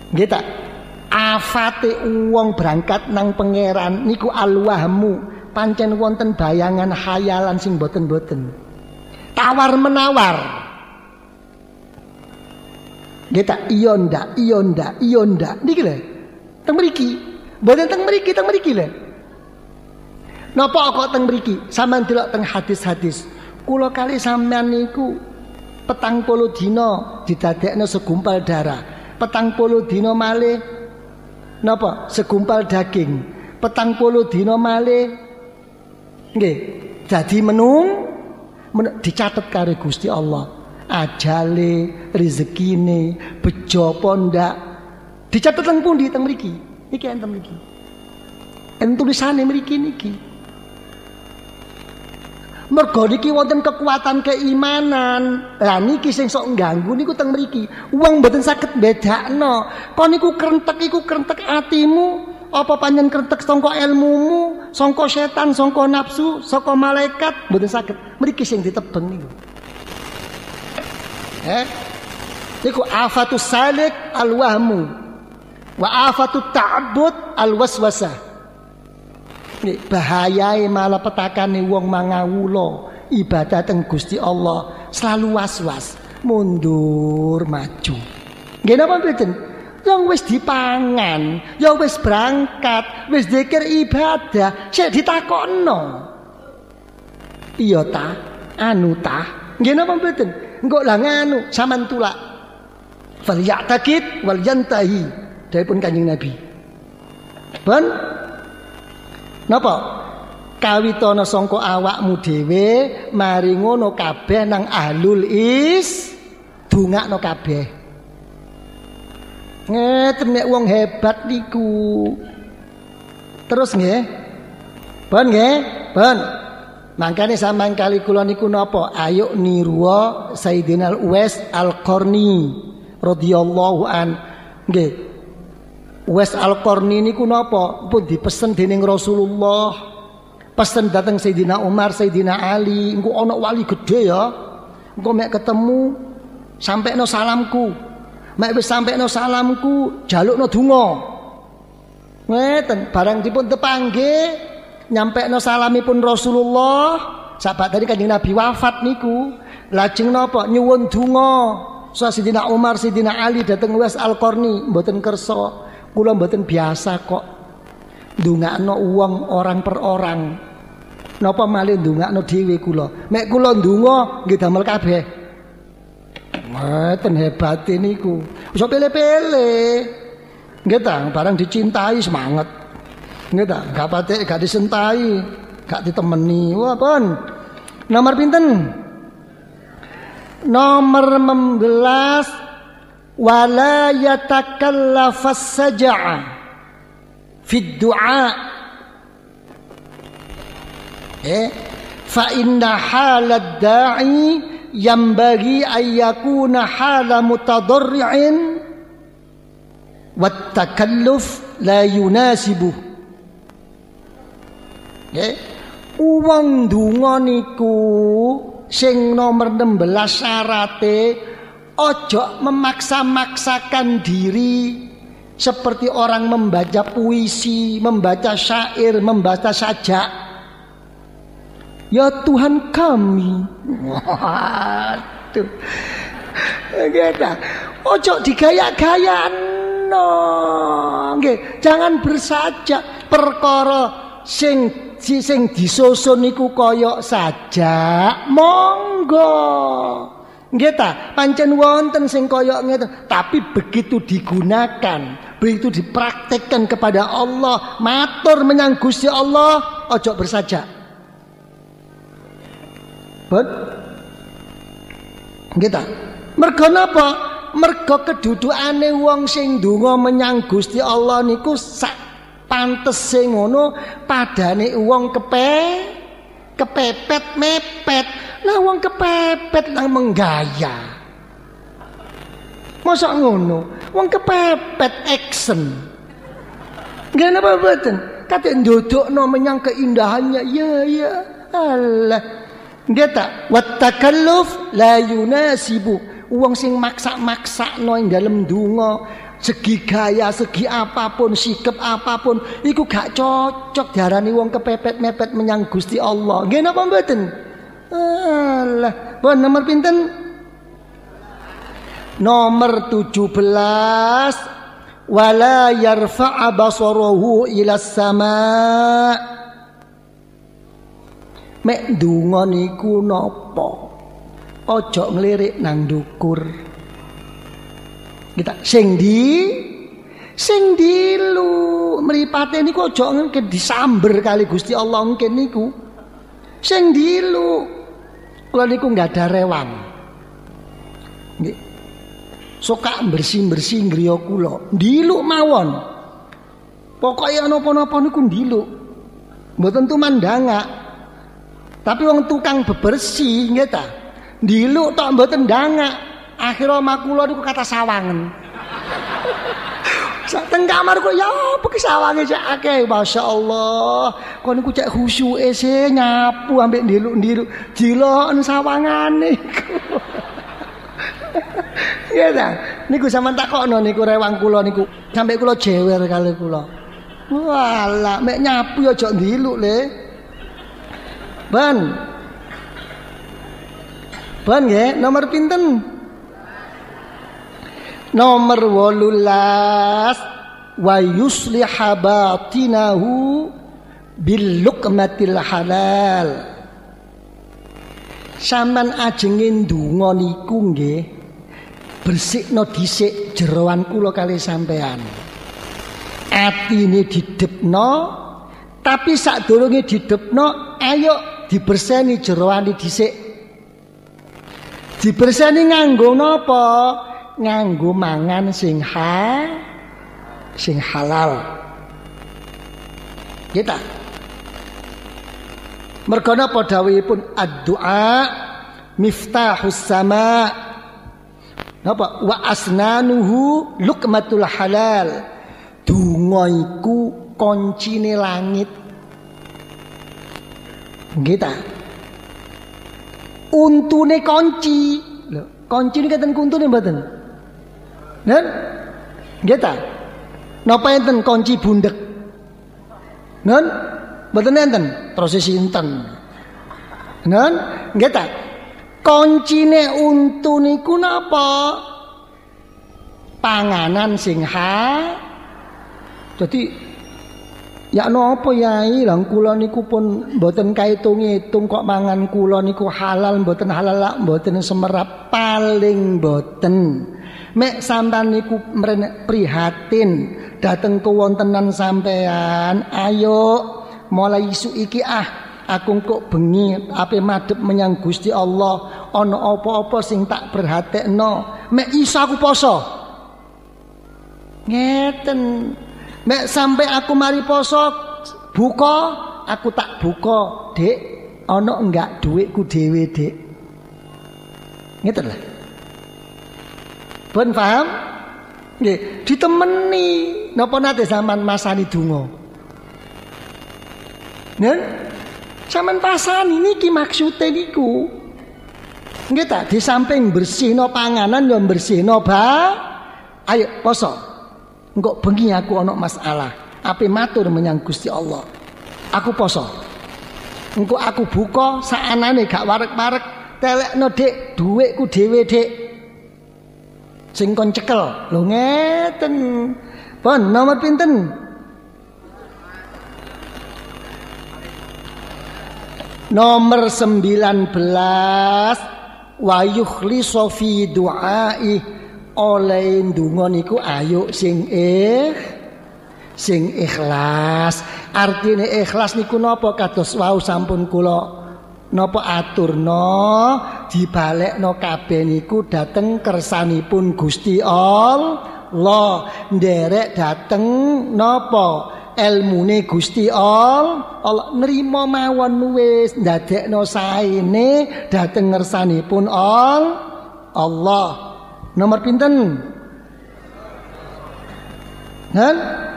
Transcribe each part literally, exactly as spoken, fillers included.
Nggih ta? Afate wong berangkat nang pangeran niku alwahmu, pancen wonten bayangan khayalan sing boten-boten. Tawar menawar. Nggih ta? Iya ndak, iya ndak, iya ndak. Niki lho. Teng mriki. Mboten teng mriki, teng mriki lho. Napa kok teng mriki? Sampeyan delok teng hadis-hadis. Kula kali sampeyan niku petang puluh dina didadekno segumpal darah. Petang puluh dina malih napa? Segumpal daging. Petang puluh dina malih nggih dadi menung, menung dicatet karo Gusti Allah. Ajale, rezekine, bejo apa ndak? Dicatet teng pundi teng mriki? Iki enten mriki. Enten tulisane mriki niki. Mergo niki wonten kekuatan keimanan. Lah niki sing sok ngganggu niku teng mriki. Wong mboten saged bedakno. Kon niku krentek iku krentek atimu, apa panjen krentek sangka ilmumu, sangka setan, sangka nafsu, sangka malaikat, mboten saged. Mriki sing ditebeng niku. Eh? Niku afatus salik alwahmu wa afatut ta'abbud alwaswasah. Nek bahayae malapetakane wong mangawula ibadah teng Gusti Allah selalu was-was, mundur maju. Nggih napa mboten? Yang wis dipangan, ya wis berangkat, wis zikir ibadah, sik ditakokno. Iya ta? Anu ta? Nggih napa mboten? Engko lah nganu sampean tulak. Fal ya'taqid wal yantahi. Dipun Kanjeng Nabi. Ben napa? Kawitana sangka awakmu dhewe mari ngono kabeh nang ahlul is dongakno kabeh. Ngeten nek wong hebat niku. Terus nggih. Ben nggih, ben. Mangkane sampean kali kula niku napa? Ayo niru Sayyidina Uwais Al-Qarni radhiyallahu an. Nggih. Uwais Al-Qarni niku napa? Pun dipesen dening Rasulullah. Pesen dateng Sayyidina Umar, Sayyidina Ali, engko ana wali gede ya. Engko mek ketemu sampekno salamku. Mek wis sampekno salamku, jalukno donga. Ngeten, barang dipun tepanggih, nyampekno salamipun Rasulullah, sahabat tadi Kanjeng Nabi wafat niku, lajeng napa? Nyuwun donga. Sayyidina Umar, Sayyidina Ali dateng Uwais Al-Qarni, mboten kersa. Kula mboten biasa kok ndongakno wong orang per orang. Napa malih ndongakno dhewe kula? Mek kula ndonga nggih damel kabeh. Mboten hebate niku. Wis pele-pele. Nggih ta, barang dicintai semangat. Nggih ta, gak patek gak disentai, gak ditemeni. Wah, pun. Nomor pinten? Nomor membelas. Wala yatakallafas sajaa fid du'a eh fa inna halad da'i yambaghi ay yakuna hala mutadarri'in wat takalluf la yunasibuh. Eh wong donga niku sing nomor enam belas syarate ojo memaksa-maksakan diri seperti orang membaca puisi, membaca syair, membaca sajak. Ya Tuhan kami. Waduh. Gitu. Ojo digaya-gayano. Nggih, jangan bersajak perkara sing sing disusun niku koyok sajak. Monggo. Nggih ta, pancen wonten sing kaya ngeten, tapi begitu digunakan, begitu dipraktekkan kepada Allah, matur menyang Gusti Allah, ojo bersajak. Bet? Nggih ta? Mergo napa? Mergo kedudukane wong sing ndonga menyang Gusti Allah niku sak pantese ngono, padane wong kepe kepepet mepet. Lah wong kepepet nang menggaya. Masa ngono? Wong kepepet action. Nggih napa mboten? Kate ndodokno menyang keindahannya. Ya ya. Allah. Nggih ta? Wat takalluf la yunasibu. Wong sing maksa-maksakno ing dalem donga Segi gaya, segi apapun, sikap apapun, iku gak cocok diarani wong kepepet mepet menyang Gusti Allah. Nggih napa mboten? Alah, pun nomor pinten? Nomor tujuh belas. Wala yarfa'a basarahu ila sama'. Mek ndonga niku napa? Aja nglirik nang ndukur. Kita sing di sing dilu mripate niku aja ngene disamber kali Gusti Allah ngene niku. Sing dilu. Kula niku enggak ada rewang. Nggih. Suka bersih-bersih griya kula. Dilu mawon. Pokoke ana apa-apa niku dilu. Mboten tumandanga. Tapi wong tukang bebersih nggih ta. Dilu tok mboten ndanga. Akhirnya omah kula niku kata sawangen. Sak teng kamar kok ya apa ki sawange cek akeh masyaallah. Kon niku cek khusyuke se nyapu ambek ndiluk-ndiluk diloken sawangane iku. Ya ta. Niku sampean takokno niku rewang kula niku sampe kula jewer kali kula. Walah mek nyapu ya aja ndiluk le. Ban. Ban nggih nomor pinten? Nomor wolulas wa yusliha batinahu bil luqmatil halal. Sampean ajenge ndonga niku nggih bersikno dhisik jeroan kula kali sampean. Atine didepno tapi sadurunge didepno ayo diberseni jeroane dhisik. Diberseni nganggo napa? Nganggo mangan sing ha sing halal. Kita mergo napa dawuhipun ad-du'a miftahus sama. Napa wa asnanuhu luqmatul halal. Donga iku kuncine langit. Kita untune kunci. Lho, kunci niki enten kuntune mboten? Nen? Nggih ta? Napa enten kunci bundek? Nen? Mboten enten, terus sinten? Nen? Nggih ta? Kuncine untu niku napa? Panganan sing ha. Dadi ya napa yai lang kula niku pun mboten kaitung-itung kok mangan kula niku halal mboten halal lak mboten semerap paling mboten. Mek sampean niku prihatin dateng kewontenan sampean, ayo mulai isu iki ah aku kok bengi ape madhep menyang Gusti Allah ana apa-apa sing tak perhatekno mek iso aku poso. Ngeten. Mek sampai aku mari poso buka aku tak buka, Dik. Ana enggak dhuwitku dhewe, Dik. Ngeten lah. Pun paham? Nggih, ditemeni napa nate sampean masani donga. Nen? Sampeyan pasani niki maksude niku. Nggih ta, di samping bersihno panganan ya bersihno ba. Ayo poso. Engko bengi aku ana masalah. Ape matur menyang Gusti Allah. Aku poso. Engko aku buka saanane gak warek-warek telekno Dik, dhuwitku dhewe Dik. Sing kon cekel. Lho ngeten. Pun nomor pinten? Nomor sembilan belas wa yukhlisu fi du'ai oleh ndonga niku ayo sing eh sing ikhlas. Artine ikhlas niku napa kados wau sampun kula napa aturna dibalekno kabeh niku dhateng kersanipun Gusti Allah, nderek dhateng napa ilmune Gusti Allah, Allah nrimo mawon wis ndadekno saene dhateng ngersanipun Allah. Nomor pinten? Kan?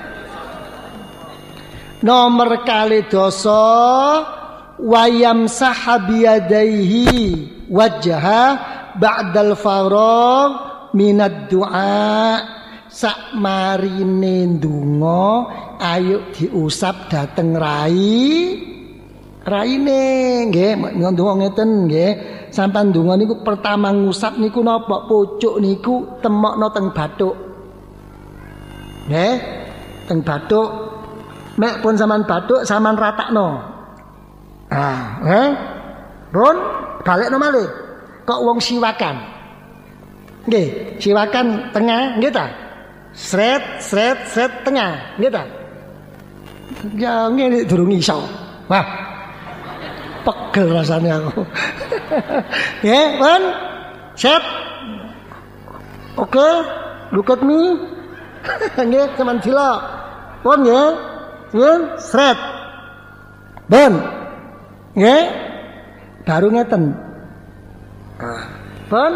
Nomor kali dosa wayam sahabiyadaihi wajha ba'dal faragh minad du'a. sak marine ndonga ayo diusap dateng rai raine nggih ndonga ngeten nggih sampean ndonga niku pertama ngusap niku napa pucuk niku temokno teng bathuk nggih teng bathuk mek pun sampean bathuk sampean ratakno ah nggih pun balekno malih kok wong siwakan nggih siwakan tengah nggih ta sret sret sret tengah nggih ta ya ngene durung iso wah pegel rasanya aku nggih pun set oke look at me nggih sampean cilok pun nggih nggih sret ben nggih baru ngeten pun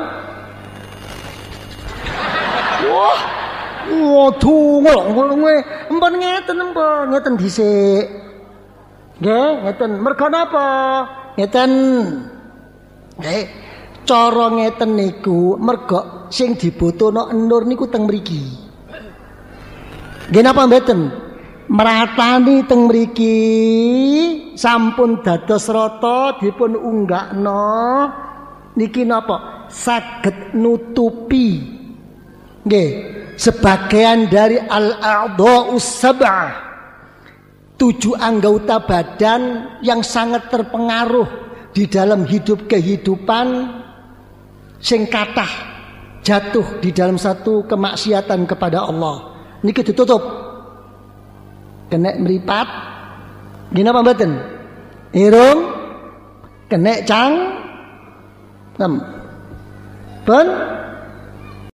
wah waduh ngono empun ngeten empun ngeten dhisik nggih ngeten merga napa ngeten nggih cara ngeten niku merga sing dibutuhno enur niku teng mriki nggih napa mboten meratani teng mriki sampun dados rata dipun unggakno niki napa saged nutupi nggih sebagian dari al-a'dha'us sab'ah tujuh anggota badan yang sangat terpengaruh di dalam hidup kehidupan sing kathah jatuh di dalam satu kemaksiatan kepada Allah niki ditutup kena mripat gini apa mboten irung kena cang nem pun